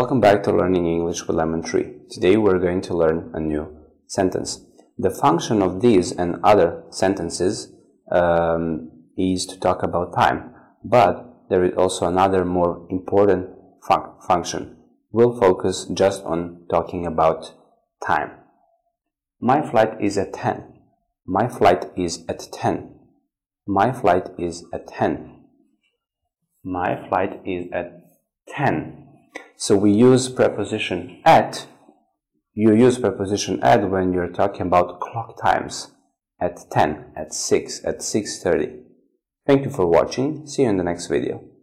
welcome back to Learning English with Lemon Tree. Today we're going to learn a new sentence. The function of these and other sentences is to talk about time, but there is also another more important function. We'll focus just on talking about time. My flight is at 10. My flight is at 10. My flight is at 10. My flight is at 10. So we use preposition at. You use preposition at when you're talking about clock times. At 10, at 6, at 6:30. Thank you for watching. See you in the next video.